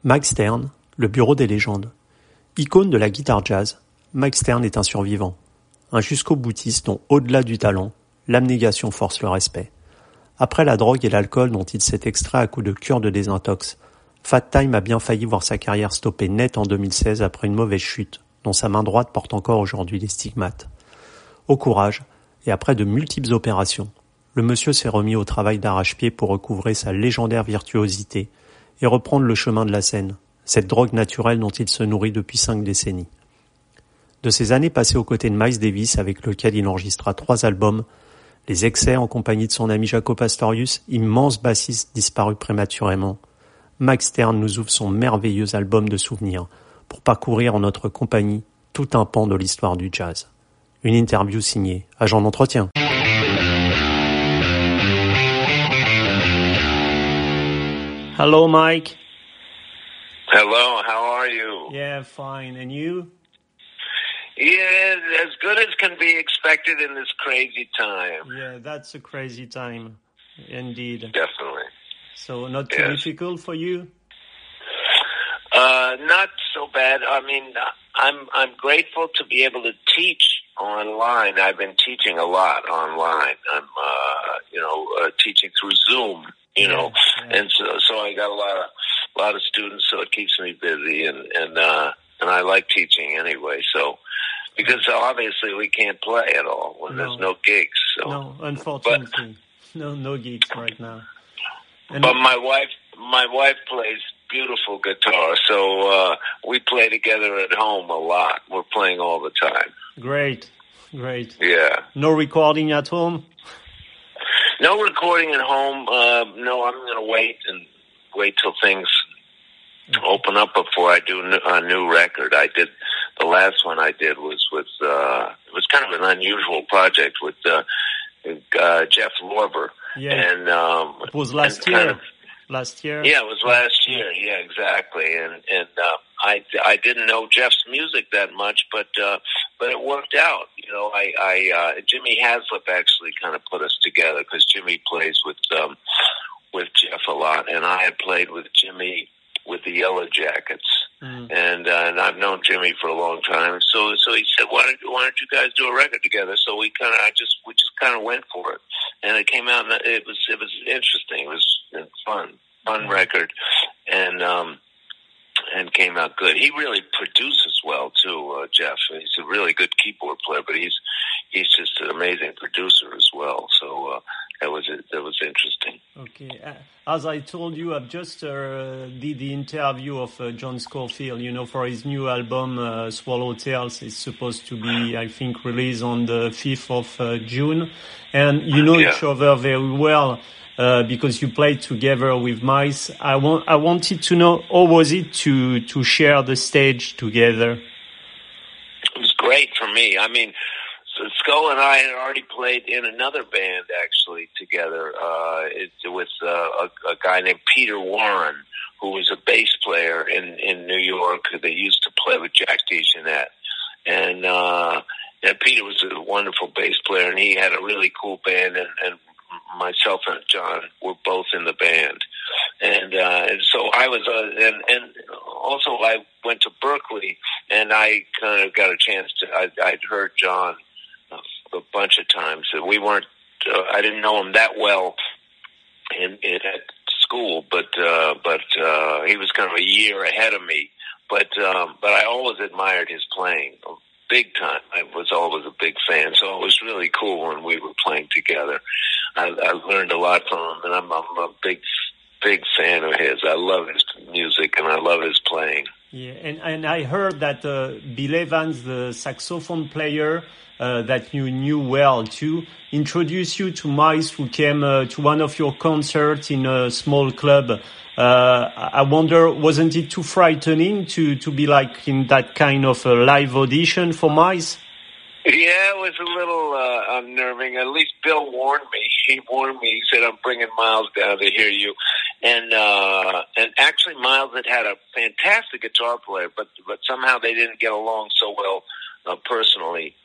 Mike Stern, le bureau des légendes. Icône de la guitare jazz, Mike Stern est un survivant. Un jusqu'au-boutiste dont, au-delà du talent, l'abnégation force le respect. Après la drogue et l'alcool dont il s'est extrait à coups de cure de désintox, Fat Time a bien failli voir sa carrière stopper net en 2016 après une mauvaise chute, dont sa main droite porte encore aujourd'hui les stigmates. Au courage, et après de multiples opérations, le monsieur s'est remis au travail d'arrache-pied pour recouvrer sa légendaire virtuosité et reprendre le chemin de la scène, cette drogue naturelle dont il se nourrit depuis 5 décennies. De ces années passées aux côtés de Miles Davis, avec lequel il enregistra 3 albums, Les Excès en compagnie de son ami Jaco Pastorius, immense bassiste disparu prématurément, Mike Stern nous ouvre son merveilleux album de souvenirs pour parcourir en notre compagnie tout un pan de l'histoire du jazz. Une interview signée Agent d'entretien. Hello, Mike. Hello, how are you? Yeah, fine. And you? Yeah, as good as can be expected in this crazy time. Yeah, that's a crazy time, indeed. Definitely. So not too difficult for you? Not so bad. I mean, I'm grateful to be able to teach online. I've been teaching a lot online. I'm teaching through Zoom, and so I got a lot of students, so it keeps me busy, and I like teaching anyway. So because obviously we can't play at all when there's no gigs. So. No, unfortunately, no gigs right now. But my wife plays beautiful guitar, so we play together at home a lot. We're playing all the time. Great. Yeah. No recording at home? No recording at home. No, I'm going to wait till things open up before I do a new record. The last one I did was with, it was kind of an unusual project with Jeff Lorber. Yeah. And it was last year. Last year? Yeah, it was last year. Yeah, exactly. And I didn't know Jeff's music that much, but it worked out. Jimmy Haslip actually kind of put us together because Jimmy plays with Jeff a lot, and I had played with Jimmy with the Yellow Jackets, and I've known Jimmy for a long time. So he said, "Why don't you guys do a record together?" So we just kind of went for it, and it came out. And it was interesting. It was fun record, and came out good. He really produces well too, Jeff. He's a really good keyboard player, but he's just an amazing producer as well. So that was interesting. Okay, as I told you, I've just did the interview of John Scofield. For his new album Swallow Tales. It's supposed to be, I think, released on the 5th of June, and each other very well. Because you played together with Miles, I wanted to know, how was it to share the stage together? It was great for me. I mean, so Skull and I had already played in another band actually together. With a guy named Peter Warren, who was a bass player in New York. They used to play with Jack DeJohnette, and Peter was a wonderful bass player, and he had a really cool band, and myself and John were both in the band, and so I was, and also I went to Berkeley, and I kind of got a chance to. I'd heard John a bunch of times. We weren't. I didn't know him that well at school, but he was kind of a year ahead of me. But I always admired his playing. Big time. I was always a big fan, so it was really cool when we were playing together. I learned a lot from him, and I'm a big fan of his. I love his music, and I love his playing. Yeah, and I heard that Bill Evans, the saxophone player that you knew well too, introduced you to Miles, who came to one of your concerts in a small club. I wonder, wasn't it too frightening to be like in that kind of a live audition for Miles? Yeah, it was a little unnerving. At least Bill warned me. He warned me. He said, "I'm bringing Miles down to hear you." And actually, Miles had a fantastic guitar player, but somehow they didn't get along so well personally.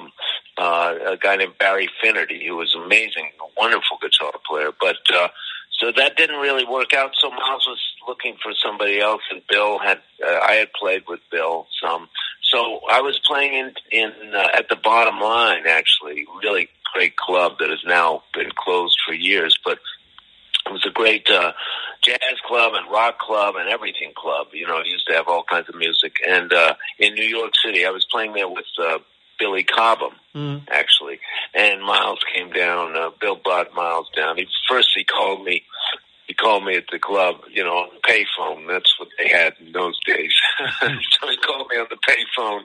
A guy named Barry Finnerty, who was amazing, a wonderful guitar player, but So that didn't really work out. So Miles was looking for somebody else, and I had played with Bill some. So I was playing in at the Bottom Line, actually, really great club that has now been closed for years, but it was a great jazz club and rock club and everything club. You know, it used to have all kinds of music. And in New York City, I was playing there with Billy Cobham, actually. And Miles came down. Bill brought Miles down. He called me. He called me at the club, you know, on the payphone. That's what they had in those days. So he called me on the payphone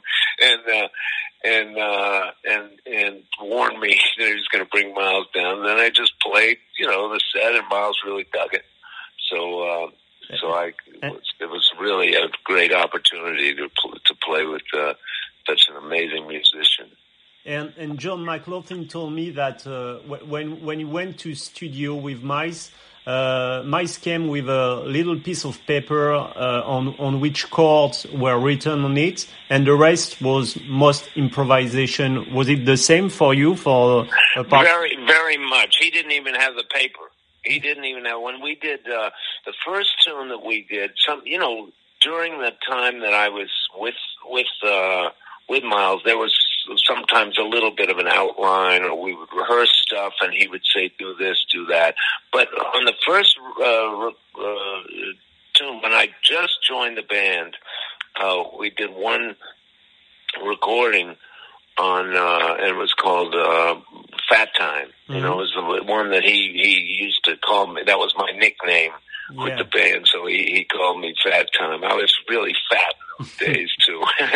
and warned me that he was going to bring Miles down. And then I just played, you know, the set, and Miles really dug it. So it was really a great opportunity to play with such an amazing musician. And John McLaughlin told me that when you went to studio with Miles, Miles came with a little piece of paper on which chords were written on it, and the rest was most improvisation. Was it the same for you? For a part? Very, very much. He didn't even have the paper. He didn't even have. When we did the first tune that we did, during the time that I was with Miles, there was sometimes a little bit of an outline, or we would rehearse stuff, and he would say, do this, do that. But on the first tune, when I just joined the band, we did one recording on, and it was called Fat Time. Mm-hmm. You know, it was the one that he used to call me. That was my nickname with the band, so he called me Fat Time. I was really fat in those days, too.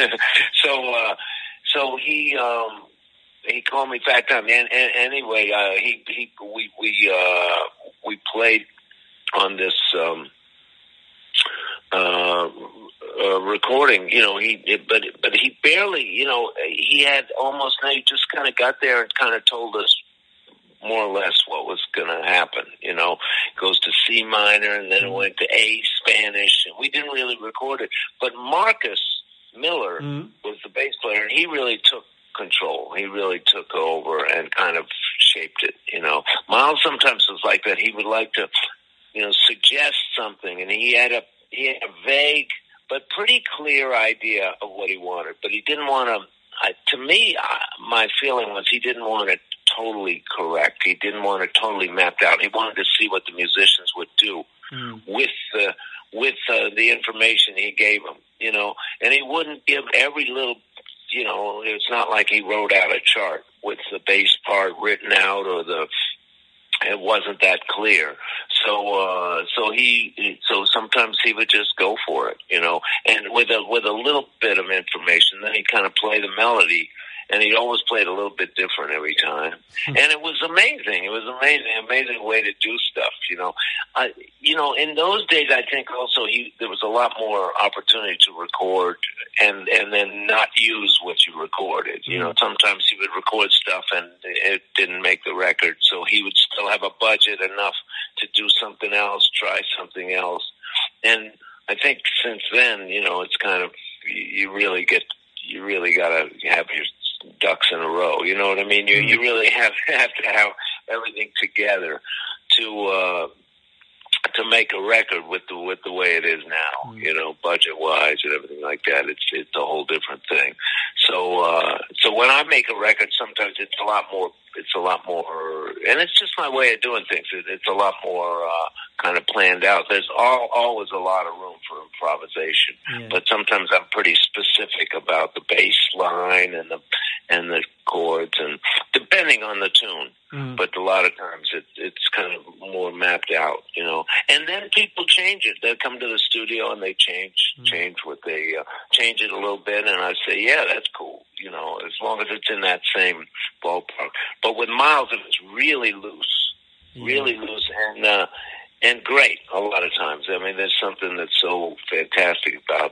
So he called me Fat Time, and anyway, we played on this recording. You know, but he barely, you know, he had almost. He just kind of got there and kind of told us more or less what was going to happen. You know, it goes to C minor, and then it went to A Spanish, and we didn't really record it. But Marcus Miller was the bass player, and he really took control. He really took over and kind of shaped it, you know. Miles sometimes was like that. He would like to, you know, suggest something, and he had a vague but pretty clear idea of what he wanted, but he didn't want to, to me, my feeling was he didn't want it totally correct. He didn't want it totally mapped out. He wanted to see what the musicians would do with the information he gave them, you know, and he wouldn't give every little, you know, it's not like he wrote out a chart with the bass part written out, or it wasn't that clear. So sometimes he would just go for it, you know, and with a little bit of information, then he'd kind of play the melody, and he always played a little bit different every time. And it was amazing. It was amazing way to do stuff, you know. You know, in those days, I think also there was a lot more opportunity to record and then not use what you recorded. You know, sometimes he would record stuff and it didn't make the record, so he would still have a budget enough to do something else, try something else. And I think since then, you know, it's kind of, you really got to have your ducks in a row. You know what I mean? You really have to have everything together to make a record with the way it is now. You know, budget wise and everything like that. It's a whole different thing. So when I make a record, sometimes it's a lot more, and it's just my way of doing things. It's a lot more kind of planned out. There's always a lot of room for improvisation, but sometimes I'm pretty specific about the bass line and the chords, and depending on the tune. But a lot of times it's kind of more mapped out, you know. And then people change it. They come to the studio and they change what they change it a little bit, and I say, yeah, that's cool, you know, as long as it's in that same ballpark. But with Miles, it was really loose, and great a lot of times. I mean, there's something that's so fantastic about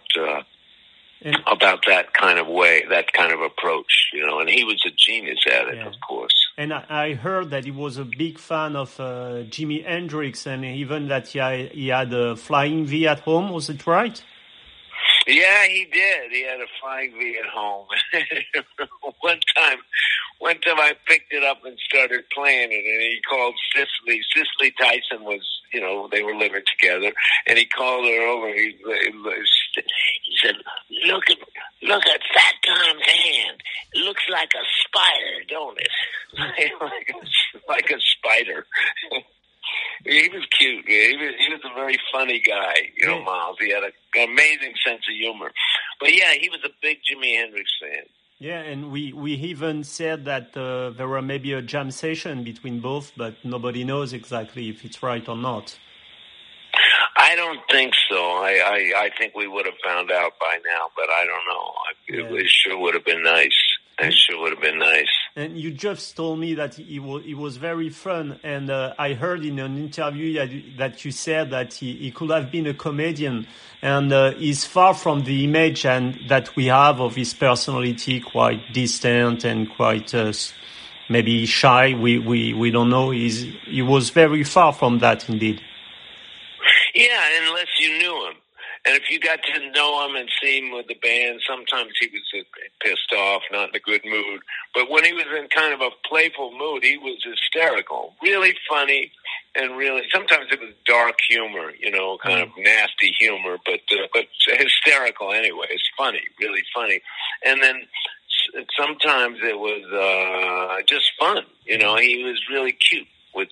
that kind of way, that kind of approach, you know, and he was a genius at it, of course. And I heard that he was a big fan of Jimi Hendrix, and even that he had a Flying V at home. Was it right? Yeah, he did. He had a Flying V at home. One time one time I picked it up and started playing it, and he called Cicely. Cicely Tyson was, they were living together, and he called her over. He said, "Look at Fat Tom's hand. It looks like a spider, don't it?" like a spider. He was cute. He was a very funny guy, Miles. He had an amazing sense of humor. But yeah, he was a big Jimi Hendrix fan. Yeah, and we even said that there were maybe a jam session between both, but nobody knows exactly if it's right or not. I don't think so. I think we would have found out by now, but I don't know. It sure would have been nice. It sure would have been nice. And you just told me that it was very fun, and I heard in an interview that you said that he could have been a comedian, and he's far from the image and that we have of his personality, quite distant and quite maybe shy. We don't know. He was very far from that, indeed. Yeah, unless you knew him. And if you got to know him and see him with the band, sometimes he was pissed off, not in a good mood. But when he was in kind of a playful mood, he was hysterical, really funny, and really sometimes it was dark humor, kind of nasty humor, but hysterical anyway. It's funny, really funny. And then sometimes it was just fun. He was really cute with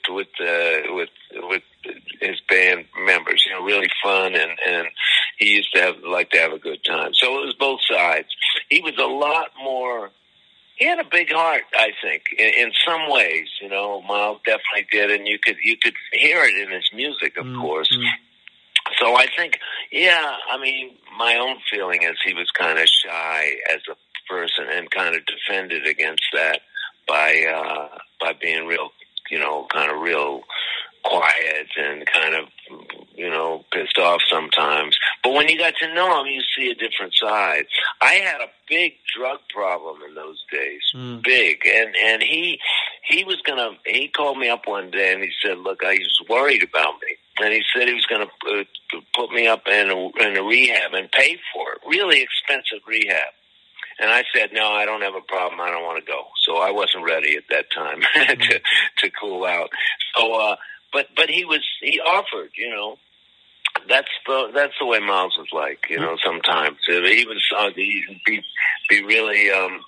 his band members, really fun, and he used to like to have a good time. So it was both sides. He was a lot more. He had a big heart, I think, in some ways. Miles definitely did, and you could hear it in his music, of course. So I think, my own feeling is he was kind of shy as a person and kind of defended against that by being real, kind of real quiet and kind of, pissed off sometimes. But when you got to know him, you see a different side. I had a big drug problem in those days, big. And he called me up one day and he said, look, he was worried about me. And he said he was going to put me up in a rehab and pay for it, really expensive rehab. And I said, no, I don't have a problem. I don't want to go. So I wasn't ready at that time to cool out. So, but he offered, that's the way Miles was like, sometimes he was, be really,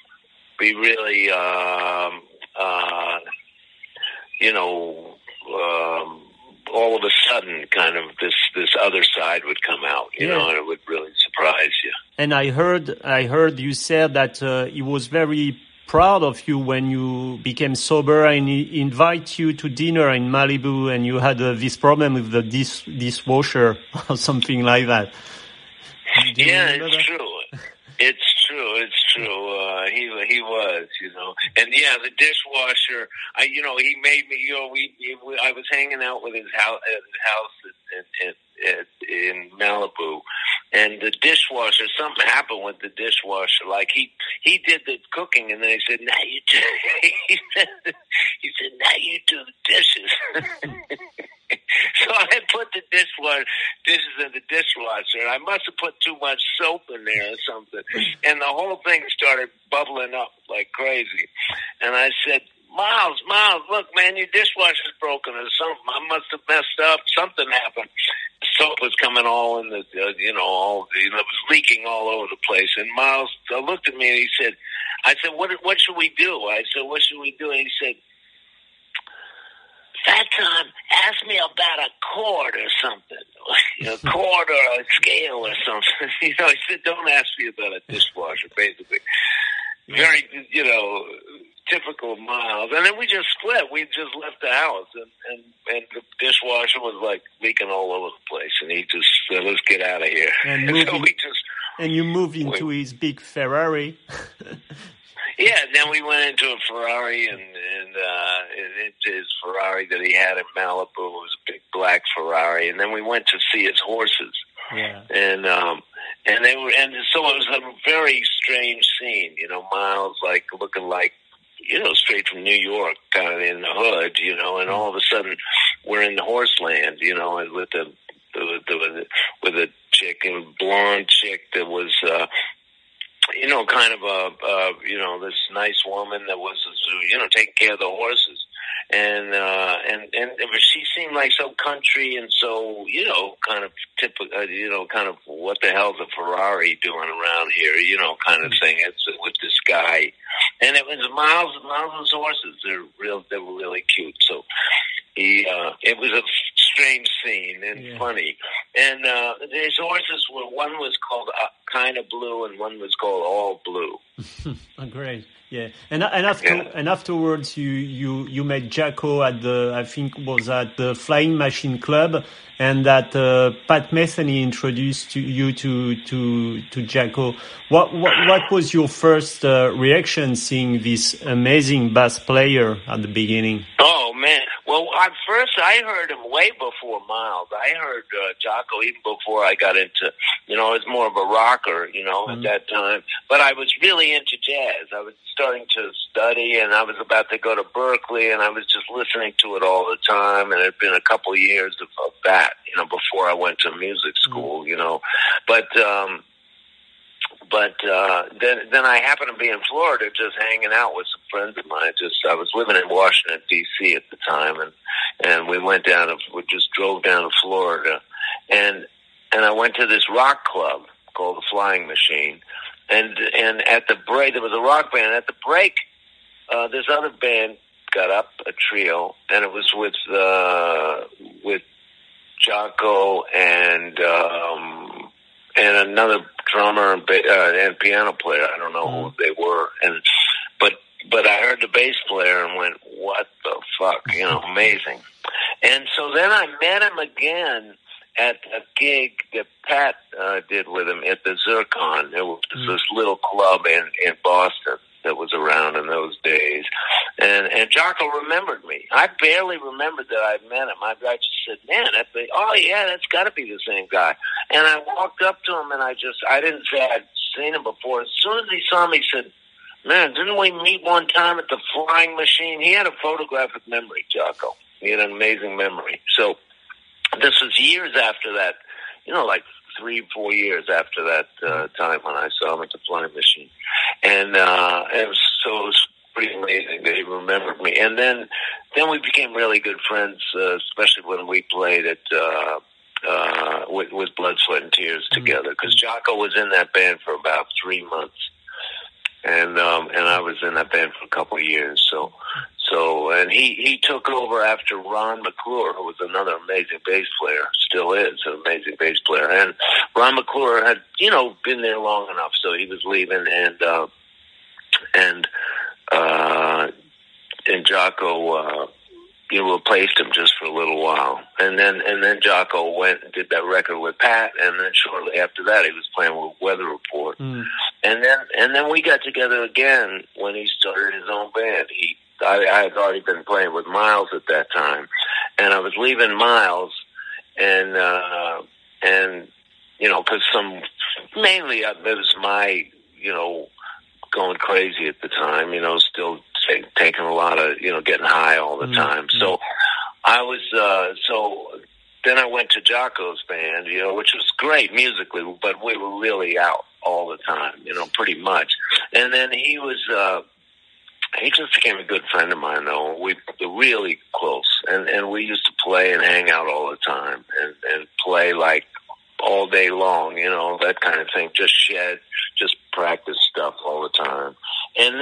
all of a sudden kind of this other side would come out, and it would really surprise you. And I heard you said that he was very proud of you when you became sober and he invited you to dinner in Malibu and you had this problem with the dishwasher or something like that. Yeah, it's true. It's true. He was, and yeah, the dishwasher. He made me. I was hanging out with his house in Malibu, and the dishwasher. Something happened with the dishwasher. Like he did the cooking, and then he said, "Now you do." He said, "Now you do the dishes." So I put the dishes in the dishwasher, and I must have put too much soap in there or something. And the whole thing started bubbling up like crazy. And I said, Miles, look, man, your dishwasher's broken or something. I must have messed up. Something happened. Soap was coming all in the, it was leaking all over the place. And Miles looked at me and he said, I said, what should we do? I said, what should we do? And he said, Fat Tom, ask me about a chord or something, chord or a scale or something. He said, don't ask me about a dishwasher, basically. Very, typical Miles. And then we just split. We just left the house, and the dishwasher was like leaking all over the place. And he just said, let's get out of here. And you moved into his big Ferrari. Yeah, then we went into a Ferrari, and into his Ferrari that he had in Malibu. It was a big black Ferrari, and then we went to see his horses. Yeah. And so it was a very strange scene. Miles like looking like straight from New York, kind of in the hood. And all of a sudden we're in the horse land. And with a chick, a blonde chick that was. kind of this nice woman that was, taking care of the horses. And she seemed like so country and so, kind of typical, kind of what the hell's a Ferrari doing around here, kind of thing. It's with this guy. And it was Miles's horses. They were really cute. So it was a strange scene and funny. And his horses one was called Kind of Blue and one was called All Blue. Oh, great. Yeah, and afterwards you met Jacko at the Flying Machine Club, and that Pat Metheny introduced you to Jacko. What was your first reaction seeing this amazing bass player at the beginning? Oh man! Well, at first I heard him way before Miles. I heard Jocko even before I got into, I was more of a rocker, at that time. But I was really into jazz. I was starting to study, and I was about to go to Berkeley, and I was just listening to it all the time. And it had been a couple of years of that, before I went to music school, But then I happened to be in Florida, just hanging out with some friends of mine. I was living in Washington D.C. at the time, and we just drove down to Florida, and I went to this rock club called the Flying Machine, and at the break there was a rock band. At the break, this other band got up, a trio, and it was with Jocko and another drummer and piano player. I don't know who they were, but I heard the bass player and went, "What the fuck?" Amazing. And so then I met him again at a gig that Pat did with him at the Zircon. It was this little club in Boston that was around in those days. And Jocko remembered me. I barely remembered that I'd met him. I just said, man, that's got to be the same guy. And I walked up to him, and I didn't say I'd seen him before. As soon as he saw me, he said, man, didn't we meet one time at the Flying Machine? He had a photographic memory, Jocko. He had an amazing memory. So this was years after that, like 3-4 years after that time when I saw him at the Flying Machine. And it was pretty amazing that he remembered me. And then we became really good friends, especially when we played at with Blood, Sweat, and Tears together. Because Jocko was in that band for about 3 months, and I was in that band for a couple of years. So and he took over after Ron McClure, who was another amazing bass player, still is an amazing bass player. And Ron McClure had, been there long enough, so he was leaving, and Jocko, replaced him just for a little while. And then Jocko went and did that record with Pat, and then shortly after that he was playing with Weather Report. And then we got together again when he started his own band. I had already been playing with Miles at that time, and I was leaving Miles, and because mainly it was my, going crazy at the time, still taking a lot of, getting high all the time. So I was, then I went to Jocko's band, which was great musically, but we were really out all the time, pretty much. And then he just became a good friend of mine, though. We were really close, and we used to play and hang out all the time, and play like all day long, that kind of thing. Just practice stuff all the time. And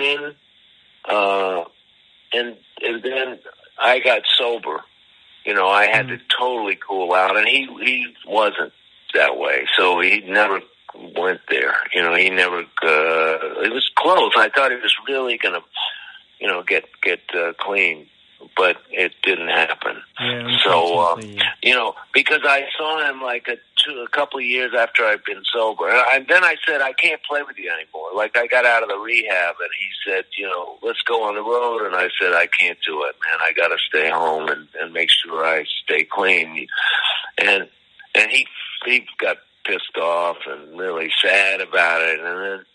then I got sober. I had to totally cool out, and he wasn't that way, so he never went there. He never. It was close. I thought he was really gonna, get clean, but it didn't happen. Yeah, so, because I saw him like a couple of years after I'd been sober, and then I said, I can't play with you anymore. Like, I got out of the rehab, and he said, let's go on the road, and I said, I can't do it, man. I got to stay home and make sure I stay clean. And he got pissed off and really sad about it,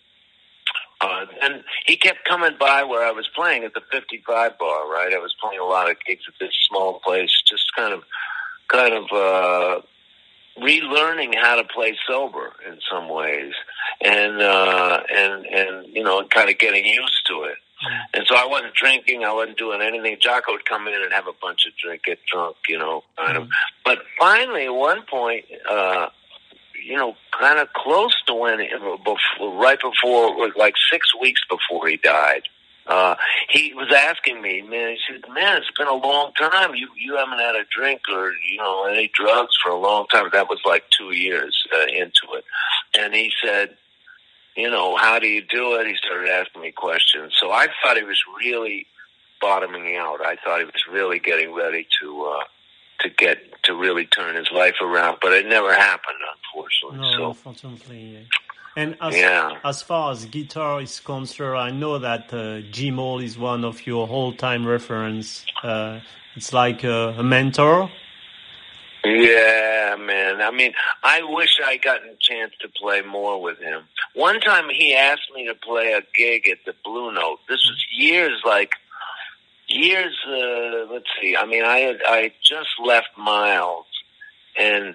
and he kept coming by where I was playing at the 55 bar, right? I was playing a lot of gigs at this small place, just kind of relearning how to play sober in some ways. and you know, kind of getting used to it. And so I wasn't drinking, I wasn't doing anything. Jocko would come in and have a bunch of drink, get drunk, you know, kind of. But finally, at one point, you know, kind of close to when, right before, like 6 weeks before he died, he was asking me, man, he said, man, it's been a long time. You haven't had a drink or, you know, any drugs for a long time. That was like 2 years into it. And he said, you know, how do you do it? He started asking me questions. So I thought he was really bottoming out. I thought he was really getting ready to really turn his life around, but it never happened, unfortunately. No, unfortunately. And as far as guitar is concerned, I know that Jim Hall is one of your all-time reference. It's like a mentor. Yeah, man. I mean, I wish I gotten a chance to play more with him. One time he asked me to play a gig at the Blue Note. This was years, let's see. I mean, I just left Miles, and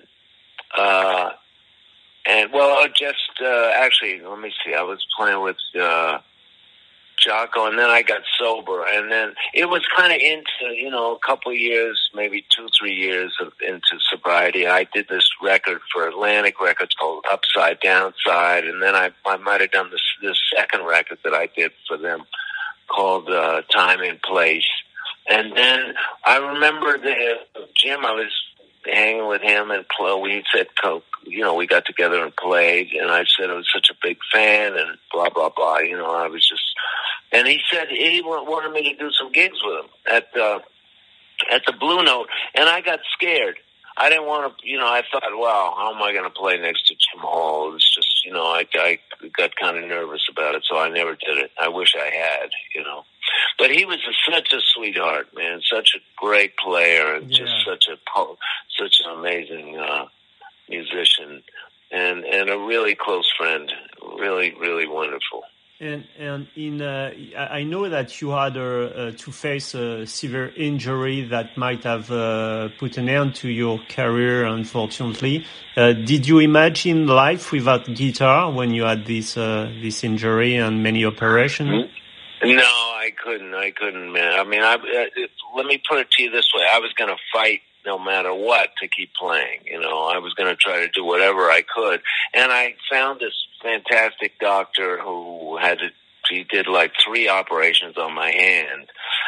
actually, let me see. I was playing with Jocko, and then I got sober, and then it was kind of into, you know, a couple of years, maybe 2-3 years into sobriety. I did this record for Atlantic Records called Upside Downside, and then I might have done this second record that I did for them called Time and Place. And then I remember Jim, I was hanging with him and we said, you know, we got together and played, and I said I was such a big fan and blah, blah, blah. You know, I was just, and he said he wanted me to do some gigs with him at the Blue Note, and I got scared. I didn't want to, you know, I thought, wow, how am I going to play next to Jim Hall? It's just, you know, I got kind of nervous about it, so I never did it. I wish I had, you know. But he was such a sweetheart, man, such a great player, and just such an amazing musician, and a really close friend, really, really wonderful. And I know that you had to face a severe injury that might have put an end to your career, unfortunately. Did you imagine life without guitar when you had this injury and many operations? No, I couldn't, man. I mean, let me put it to you this way. I was going to fight no matter what to keep playing. You know, I was going to try to do whatever I could. And I found this fantastic doctor who he did like 3 operations on my hand.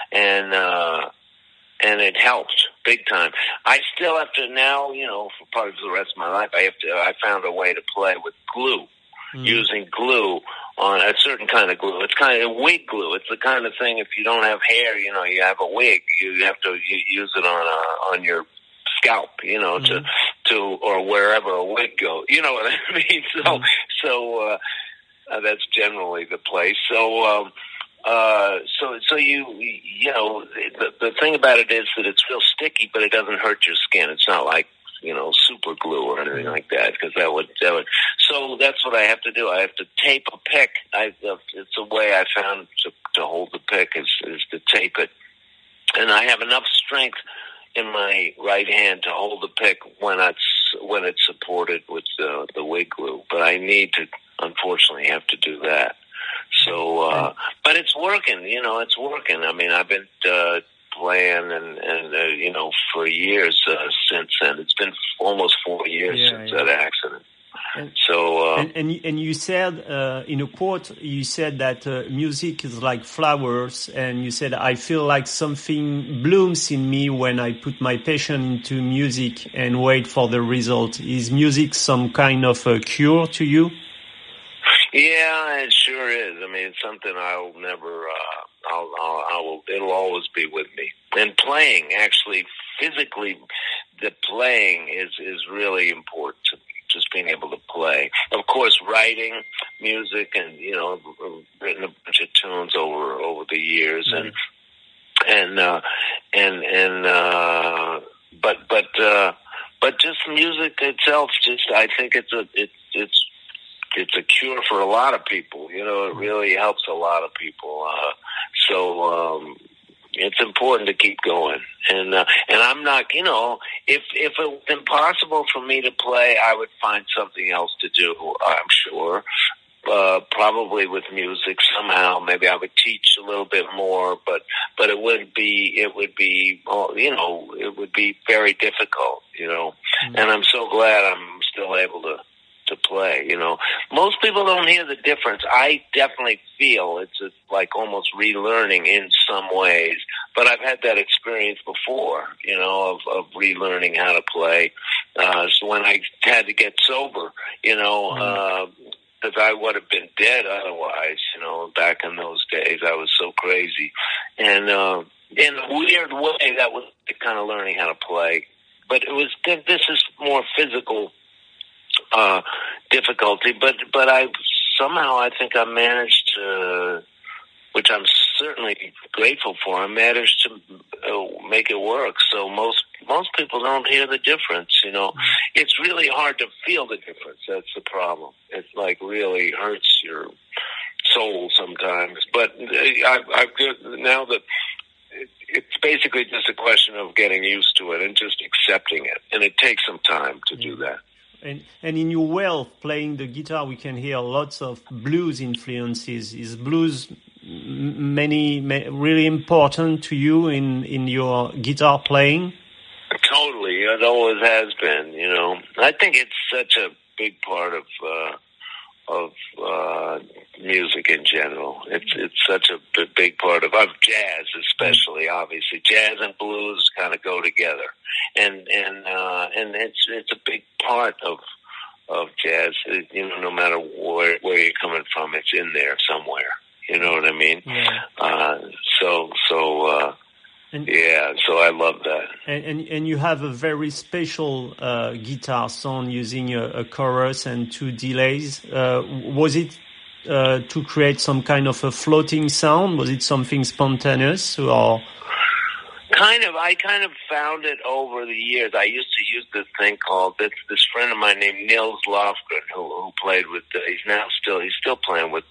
And it helped big time. I still have to now, you know, for part of the rest of my life, I found a way to play with glue, using glue on a certain kind of glue. It's kind of wig glue. It's the kind of thing, if you don't have hair, you know, you have a wig, you have to use it on your scalp, you know, to or wherever a wig goes. You know what I mean? So that's generally the place. So you know, the thing about it is that it's real sticky, but it doesn't hurt your skin. It's not like, you know, super glue or anything like that, because that would. So that's what I have to do. I have to tape a pick. It's a way I found to hold the pick is to tape it, and I have enough strength in my right hand to hold the pick when it's supported with the wig glue. But I need to, unfortunately, have to do that. So, but it's working. You know, it's working. I mean, I've been playing and you know, for years since then. It's been almost 4 years since that accident. And you said in a quote, you said that music is like flowers, and you said, I feel like something blooms in me when I put my passion into music and wait for the result. Is music some kind of a cure to you? Yeah, it sure is. I mean, it's something I'll never. It'll always be with me. And playing, actually, physically, the playing is really important to me. Just being able to play. Of course, writing music, and you know, written a bunch of tunes over the years, but just music itself. Just I think it's a cure for a lot of people. You know, it really helps a lot of people. So it's important to keep going. And I'm not, you know, if it was impossible for me to play, I would find something else to do, I'm sure. probably with music somehow. Maybe I would teach a little bit more, but it would be, it would be very difficult, and I'm so glad I'm still able to play, Most people don't hear the difference. I definitely feel it's like almost relearning in some ways, but I've had that experience before, of relearning how to play. So when I had to get sober, because I would have been dead otherwise, back in those days. I was so crazy. And in a weird way, that was kind of learning how to play. But this is more physical difficulty, but I think I managed to, which I'm certainly grateful for, I managed to make it work. So most people don't hear the difference, It's really hard to feel the difference. That's the problem. It's like really hurts your soul sometimes. But I've now that it's basically just a question of getting used to it and just accepting it, and it takes some time to do that. And in your way of playing the guitar, we can hear lots of blues influences. Is blues really important to you in your guitar playing? Totally, it always has been. I think it's such a big part of music in general. It's such a big part of jazz, especially. Obviously, jazz and blues kind of go together, and it's a big part of jazz. No matter where you're coming from, it's in there somewhere. You know what I mean? Yeah. So I love that. And you have a very special guitar sound using a chorus and two delays. Was it to create some kind of a floating sound? Was it something spontaneous or? I kind of found it over the years. I used to use this thing called this friend of mine named Nils Lofgren who played with. He's still playing with.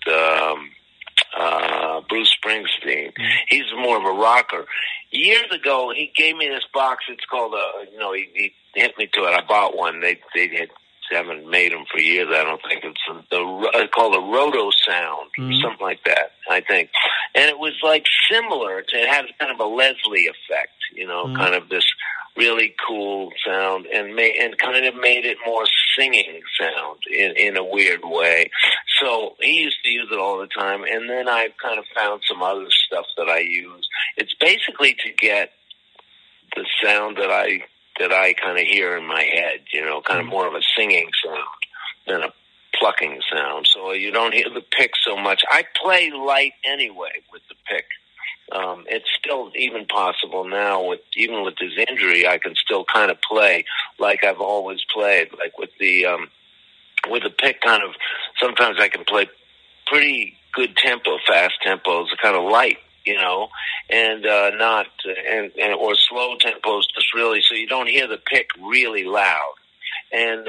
Bruce Springsteen. He's more of a rocker. Years ago, he gave me this box. It's called he hit me to it. I bought one. They haven't made them for years. I don't think it's called a Roto Sound, something like that. I think, and it was like similar to. It had kind of a Leslie effect, kind of this really cool sound, and kind of made it more singing sound in a weird way. So he used to use it all the time, and then I kind of found some other stuff that I use. It's basically to get the sound that I kind of hear in my head, kind of more of a singing sound than a plucking sound. So you don't hear the pick so much. I play light anyway with the pick. It's still even possible now even with this injury, I can still kind of play like I've always played, like with the pick kind of, sometimes I can play pretty good tempo, fast tempos, kind of light, and or slow tempos, just really, so you don't hear the pick really loud. And,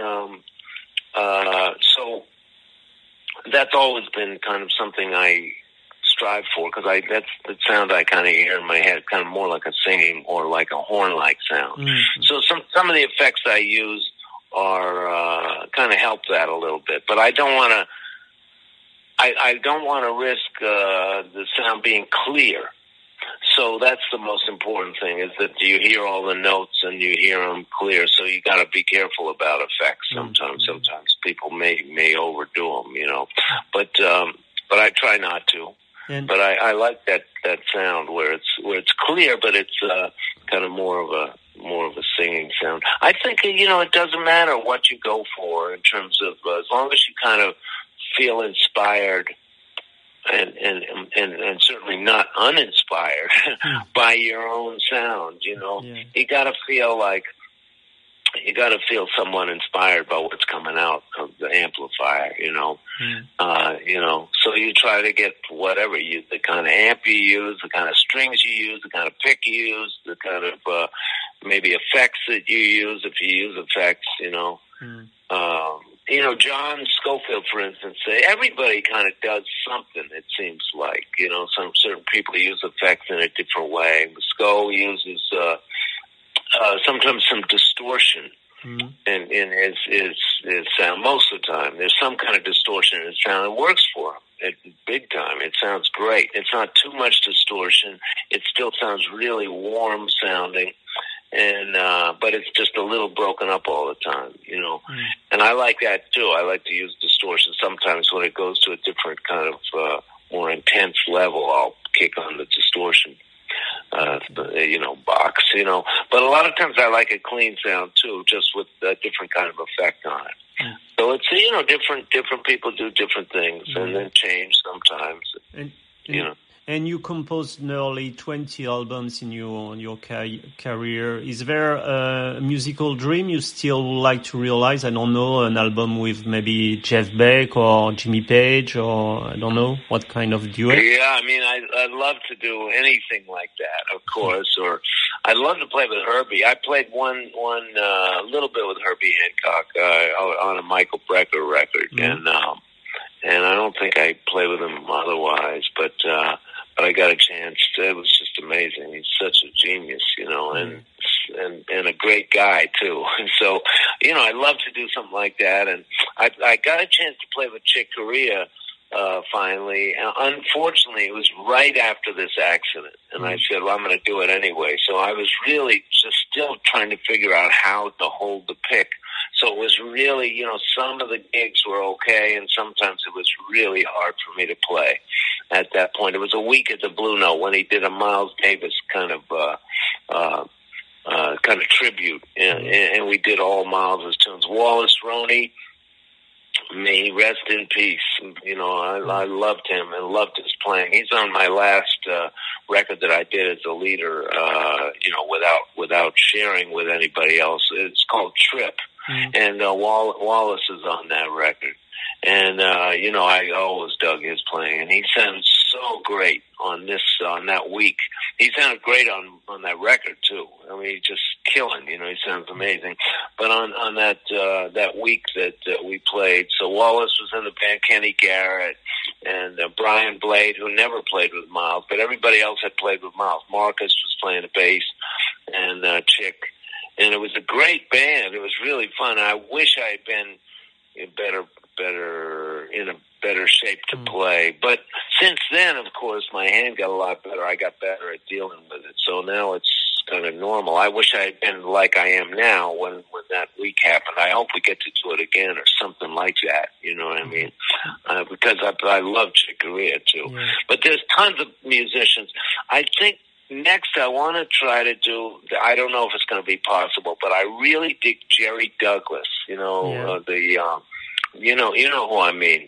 so that's always been kind of something I strive for, because that's the sound I kind of hear in my head, kind of more like a singing or like a horn-like sound. Mm-hmm. So some of the effects I use are kind of help that a little bit, but I don't want to risk the sound being clear. So that's the most important thing, is that you hear all the notes and you hear them clear. So you got to be careful about effects. Sometimes people may overdo them, but I try not to. But I like that sound where it's clear, but it's kind of more of a singing sound. I think it doesn't matter what you go for in terms of as long as you kind of feel inspired and certainly not uninspired by your own sound. You got to feel somewhat inspired by what's coming out of the amplifier, so you try to get whatever the kind of amp you use, the kind of strings you use, the kind of pick you use, the kind of, maybe effects that you use, if you use effects, John Scofield, for instance, everybody kind of does something, it seems like, some certain people use effects in a different way. Sco uses, sometimes some distortion in his sound. Most of the time, there's some kind of distortion in his sound. It works for him. Big time. It sounds great. It's not too much distortion. It still sounds really warm sounding, and but it's just a little broken up all the time, you know. And I like that too. I like to use distortion sometimes when it goes to a different kind of more intense level. I'll kick on the distortion, you know, box, you know. But a lot of times I like a clean sound too, just with a different kind of effect on it. So it's, you know, different people do different things and then change sometimes, you know. And you composed nearly 20 albums in your career. Is there a musical dream you still would like to realize? I don't know, an album with maybe Jeff Beck or Jimmy Page, or I don't know, what kind of duet? Yeah, I mean, I'd love to do anything like that, of course. Or I'd love to play with Herbie. I played one little bit with Herbie Hancock on a Michael Brecker record, and I don't think I played with him otherwise, but I got a chance. It was just amazing. He's such a genius, you know, and a great guy too. And so, you know, I'd love to do something like that. And I got a chance to play with Chick Corea finally. And unfortunately, it was right after this accident. And I said, well, I'm going to do it anyway. So I was really just still trying to figure out how to hold the pick. So it was really, you know, some of the gigs were okay, and sometimes it was really hard for me to play at that point. It was a week at the Blue Note when he did a Miles Davis kind of tribute, and we did all Miles's tunes. Wallace Roney, may he rest in peace. You know, I loved him and loved his playing. He's on my last record that I did as a leader, you know, without sharing with anybody else. It's called Trip. And Wallace is on that record. And, you know, I always dug his playing. And he sounds so great on that week. He sounded great on that record, too. I mean, he's just killing, you know, he sounds amazing. But on that week that we played, so Wallace was in the band, Kenny Garrett, and Brian Blade, who never played with Miles, but everybody else had played with Miles. Marcus was playing the bass, and Chick. And it was a great band. It was really fun. I wish I had been in a better shape to play. But since then, of course, my hand got a lot better. I got better at dealing with it. So now it's kind of normal. I wish I had been like I am now when that week happened. I hope we get to do it again or something like that. You know what I mean? Because I love Chick Corea too. Yeah. But there's tons of musicians. I think next I want to try to do, I don't know if it's going to be possible, but I really dig Jerry Douglas. You know, you know who I mean.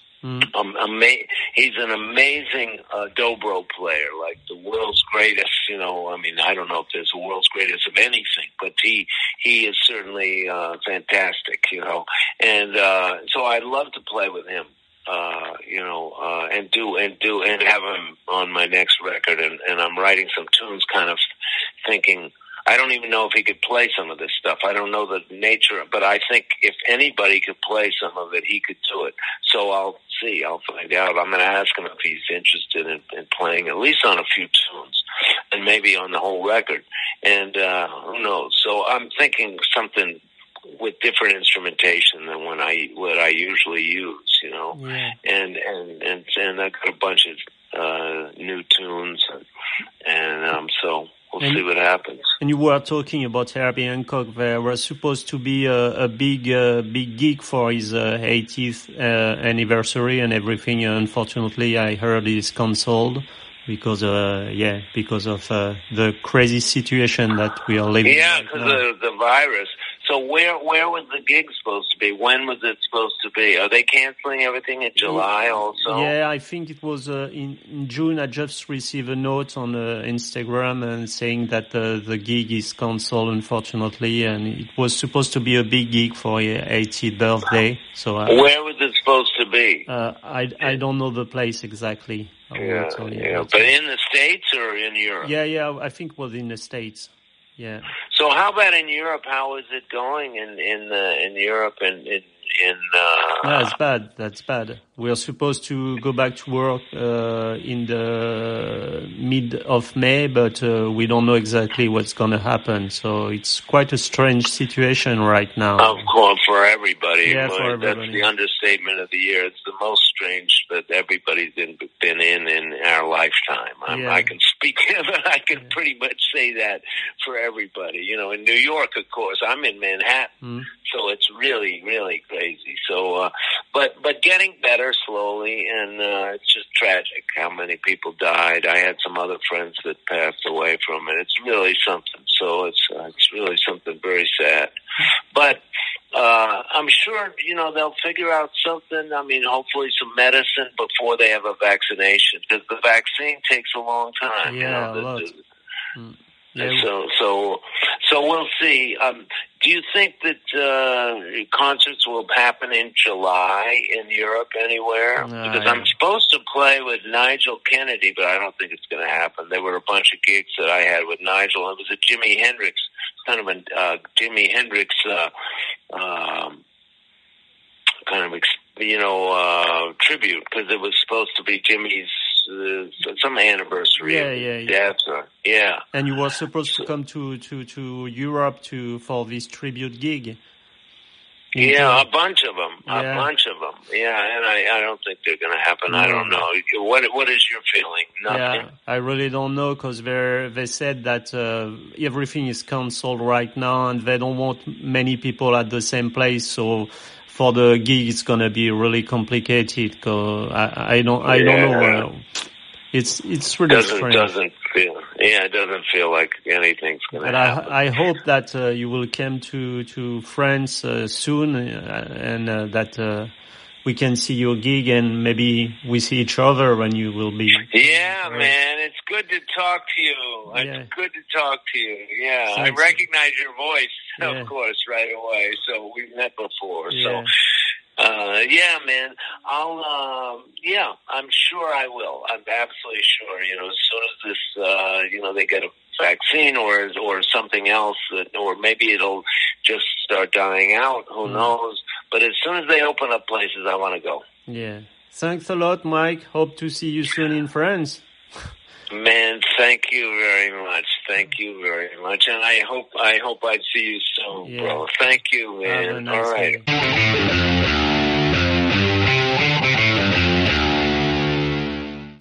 He's an amazing dobro player, like the world's greatest. You know, I mean, I don't know if there's a world's greatest of anything, but he is certainly fantastic. You know, and so I'd love to play with him. You know, and have him on my next record, and I'm writing some tunes, kind of thinking. I don't even know if he could play some of this stuff. I don't know the nature, but I think if anybody could play some of it, he could do it. So I'll see. I'll find out. I'm going to ask him if he's interested in playing at least on a few tunes and maybe on the whole record. And who knows? So I'm thinking something with different instrumentation than what I usually use, you know. Yeah. And I got a bunch of new tunes, and so we'll see what happens. And you were talking about Herbie Hancock. There was supposed to be a big gig for his 80th anniversary and everything. Unfortunately, I heard it's cancelled because of the crazy situation that we are living in. Yeah, because of the virus. So where was the gig supposed to be? When was it supposed to be? Are they canceling everything in July also? Yeah, I think it was in June. I just received a note on Instagram and saying that the gig is cancelled, unfortunately, and it was supposed to be a big gig for your 80th birthday. So where was it supposed to be? I don't know the place exactly. But in the States or in Europe? Yeah, I think it was in the States. Yeah. So how about in Europe? How is it going in Europe and in Yeah, it's bad. That's bad. We are supposed to go back to work in the mid of May, but we don't know exactly what's going to happen. So it's quite a strange situation right now. Of course, for everybody. Yeah, for everybody. That's the understatement of the year. It's the most strange that everybody's been in our lifetime. I can speak, I can pretty much say that for everybody. You know, in New York, of course, I'm in Manhattan, so it's really, really crazy. So, but getting better slowly, and it's just tragic how many people died. I had some other friends that passed away from it. It's really something. So it's really something very sad. But I'm sure, they'll figure out something. I mean, hopefully some medicine before they have a vaccination, because the vaccine takes a long time. Yeah, a lot. So we'll see. Do you think that concerts will happen in July in Europe anywhere? Because I'm supposed to play with Nigel Kennedy, but I don't think it's going to happen. There were a bunch of gigs that I had with Nigel. It was a Jimi Hendrix, kind of a Jimi Hendrix tribute, because it was supposed to be Jimmy's some anniversary of death. Yeah. And you were supposed to come to Europe for this tribute gig. Yeah, a bunch of them. Yeah, and I don't think they're going to happen. No. I don't know. What is your feeling? Nothing? Yeah, I really don't know, because they said that everything is cancelled right now, and they don't want many people at the same place. So for the gig, it's going to be really complicated. Cause I don't know. It's really strange. It doesn't feel like anything's going to happen. I hope that you will come to France soon, and that we can see your gig, and maybe we see each other when you will be. Yeah, man, it's good to talk to you. It's good to talk to you. Yeah, I recognize your voice, of course, right away. So we've met before. Yeah. So. Man, I'm sure I will. I'm absolutely sure. As soon as this, they get a vaccine or something else, or maybe it'll just start dying out. Who knows? But as soon as they open up places, I want to go. Yeah. Thanks a lot, Mike. Hope to see you soon in France. Man, thank you very much. Thank you very much, and I hope I see you soon, bro. Thank you, man. Have a nice All right. day.